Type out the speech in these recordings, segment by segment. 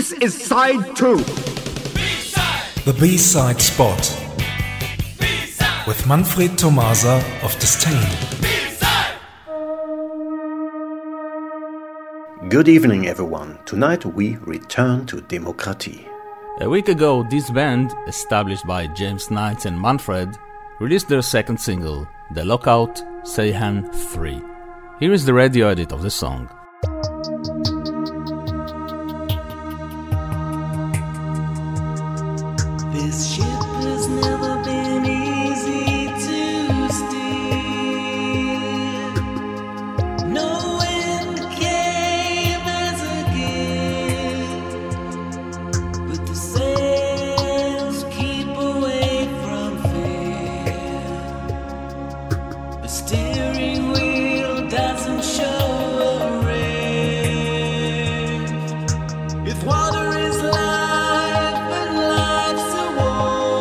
This is side 2. B-side. The B-side spot. B-side. With Manfred Tomasa of Disdain. Good evening, everyone. Tonight we return to Demokratie. A week ago, this band, established by James Knights and Manfred, released their second single, The Lockout Seihan 3. Here is the radio edit of the song. This ship has never been easy to steer. No wind came as a gift, but the sails keep away from fear. The steering wheel doesn't show a rift. If water is life and life's a war,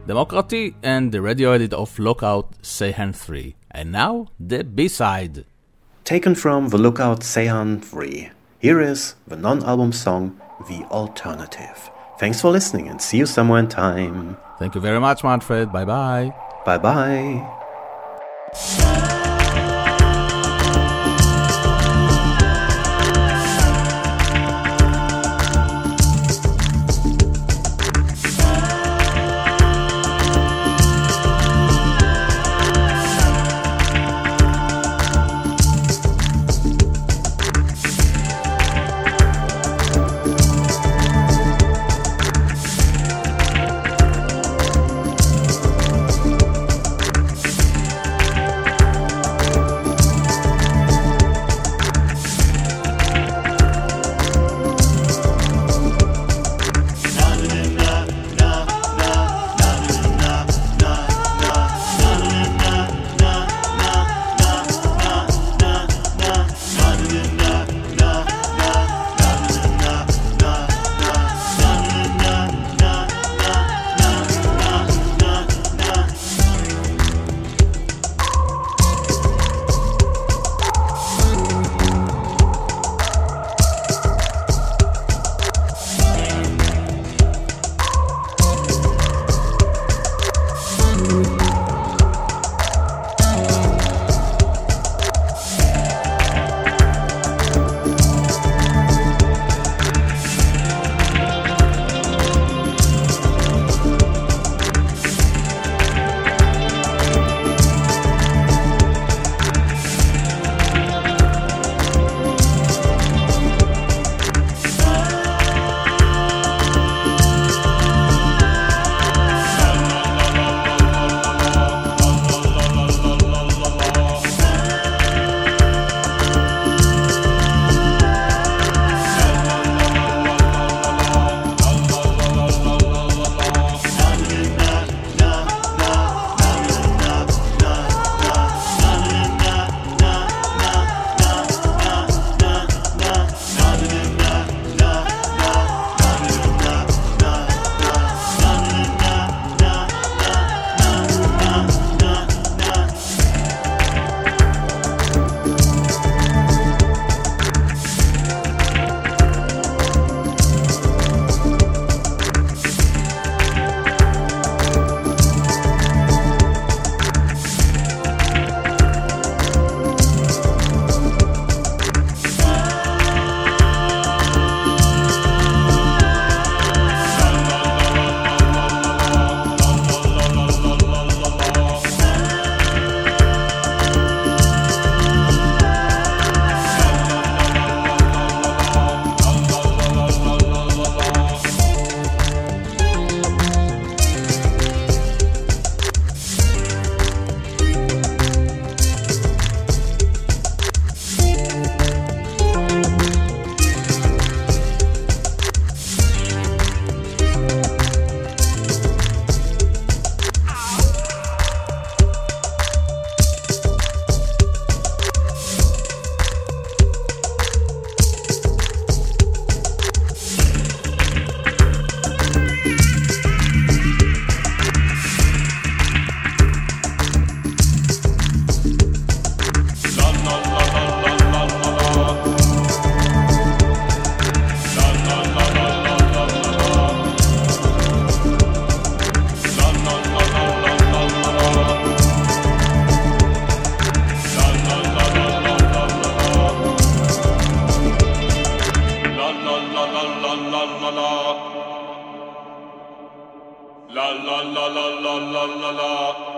Democracy and the radio edit of Lookout Seihan 3. And now, the B-side. Taken from the Lookout Seihan 3, here is the non-album song, The Alternative. Thanks for listening and see you somewhere in time. Thank you very much, Manfred. Bye-bye. Bye-bye. la la la la la la la la